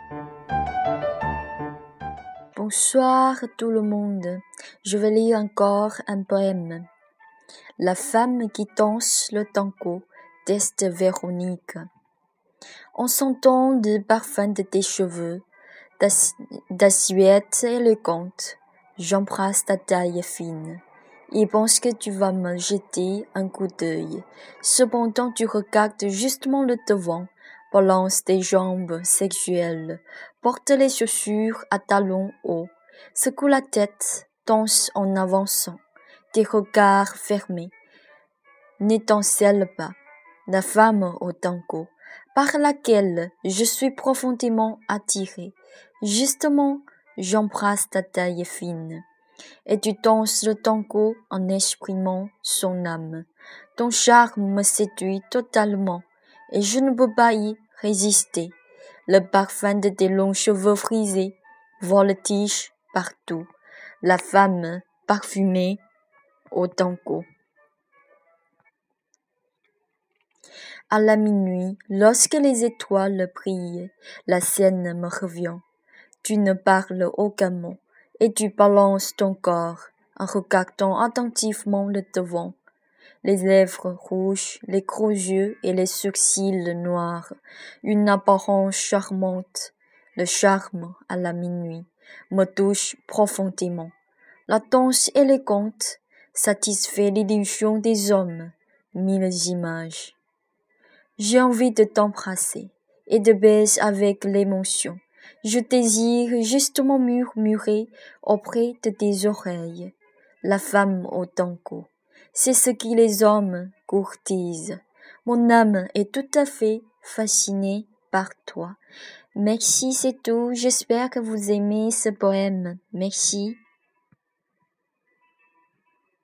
Bonsoir tout le monde, je vais lire encore un poème. La femme qui danse le tango d'Est Véronique. En sentant le parfum de tes cheveux, d'assiette élégante, j'embrasse ta taille fine et pense que tu vas me jeter un coup d'œil. Cependant tu regardes justement le devant, balance tes jambes sexuelles, porte les chaussures à talons hauts, secoue la tête, danse en avançant, tes regards fermés n'étincellent pas. La femme au tango, par laquelle je suis profondément attiré. Justement, j'embrasse ta taille fine. Et tu danses le tango en exprimant son âme. Ton charme me séduit totalement, et je ne peux pas y résister. Le parfum de tes longs cheveux frisés voltige partout. La femme parfumée au tango. À la minuit, lorsque les étoiles brillent, la scène me revient. Tu ne parles aucun mot, et tu balances ton corps, en regardant attentivement le devant. Les lèvres rouges, les gros yeux et les sourcils noirs, une apparence charmante. Le charme, à la minuit, me touche profondément. La danse élégante satisfait l'illusion des hommes, mille images. J'ai envie de t'embrasser et de baiser avec l'émotion. Je désire justement murmurer auprès de tes oreilles. La femme au tango, c'est ce qui les hommes courtisent. Mon âme est tout à fait fascinée par toi. Merci, c'est tout. J'espère que vous aimez ce poème. Merci.